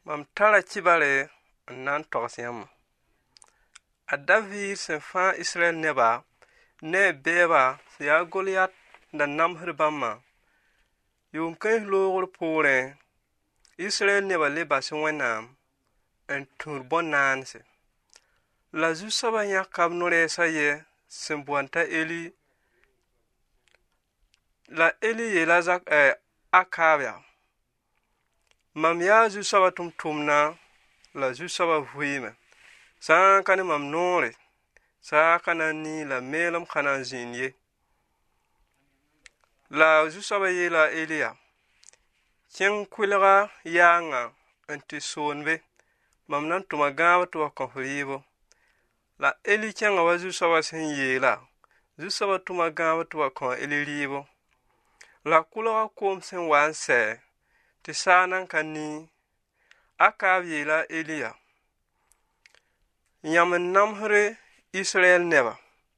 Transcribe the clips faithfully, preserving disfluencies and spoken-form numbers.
Mam tara kibare n na n togs yãmba. A David sẽn fãa Israel neba ne beeba sẽn yaa Goliat da namsd bãmba. Yʋʋm kãens loogr poorẽ, Israel neba le bas Wẽnnaam n tũud bõn-naanse. La Zu-soabã yãka b no-rɛɛsã yɛ sẽn boond t'a Eli. La Eli yeela zak eh, Akaab yaa: Mam yaa Zu-soabã tʋmtʋmdã la Zu-soabã vɩɩme. Sã n ka ne mam noore, saa ka na n nii la meelem ka na n zĩnd ye. La Zu-soabã yeela Eli yaa: Kẽng kʋɩlga yaangã n tɩ soonbe, mam na n tʋma gãab tɩ wa kõ fo rɩɩbo. La Eli kẽnga wa Zu-soabã sẽn yeela, Zu-soabã tʋma gãab tɩ wa kõ a Eli rɩɩbo. La kʋlga koom sẽn wa n sɛ tɩ saa nan ka nii, Akaab yeela Eli yaa: Yãmb n namsd Israel neba.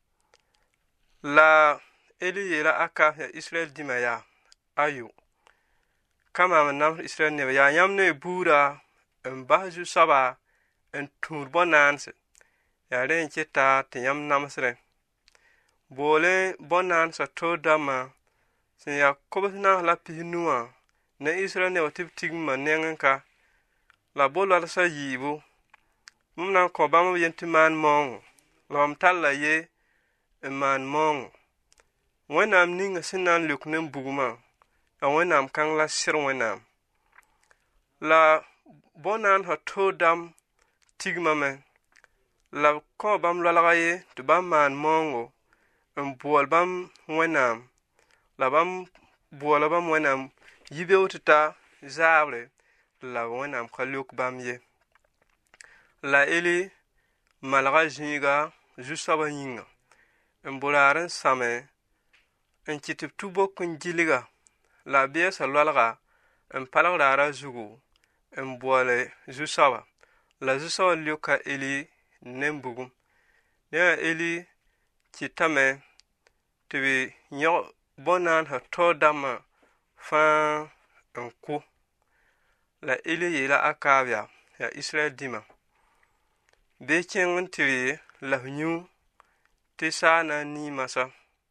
La Eli yeela Akaab yaa Israel dĩmã yaa: Ayo, ka maam n namsd Israel neba, yaa yãmb ne y buudã n bas Zu-soabã n tũud bõn-naanse. Yaa rẽ n keta tɩ yãmb namsdẽ. Boolẽ bõn-naansã toor dãmbã sẽn yaa kobs-naas la pis-nuwã ne Israel neba tɩ b tigimã nengẽ ka. La bo-loalsã yiibu, mam na n kõ bãmb b yen tɩ maan maoongo, la mam tar la ye n maan maoongo. Wẽnnaam ninga sẽn na n leok ne n bugmã, yaa Wẽnnaam kãng la sɩr Wẽnnaam. La bõn-naansã toor dãmb tigmame, la b kõ bãmb loalga ye tɩ bãmb maan maoongo n boɔl bãmb Wẽnnaam, la bãmb boɔla bãmb Wẽnnaam yi-beoog tɩ ta zaabre, la Wẽnnaam ka leok bãmb ye. La Eli malga zĩiga Zu-soabã yĩnga, n boraar n sãme n kɩ tɩ b tu bok n gilga, la a beesa loalga n palg raarã zugu n boɔle Zu-soabã. La Zu-soabã leoka Eli ne n bugum. Dẽ Eli kɩtame tɩ b yõg bõn-naansã toor dãmbã fãa n kʋ. La Eli yeela Akaab yaa: Yaa Israel dĩmã, bɩ y kẽng n tɩ la f yũ tɩ saa na n nii masã.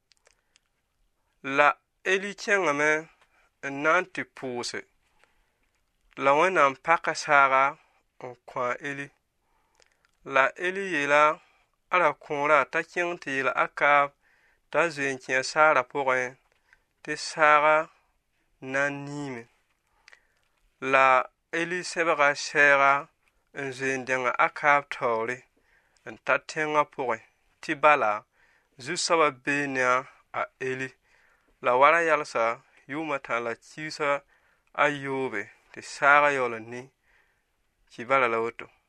La Eli kẽngame n na n tɩ pʋʋse. La Wẽnnaam paka saaga n kõ a Eli. La Eli yeela a ra-kõorã t'a kẽng tɩ yeel Akaab t'a zoe n kẽ a saarã pʋgẽ tɩ saaga na n niime. La Eli sẽbga sɛɛga n zoe n dẽnga Akaab taoore n ta tẽngã pʋgẽ tɩ bala Zu-soabã bee ne a Eli. La wara yalsa yʋʋmã tã la kiisã a yoobe tɩ saaga yaool n ni. Kɩ bala la woto.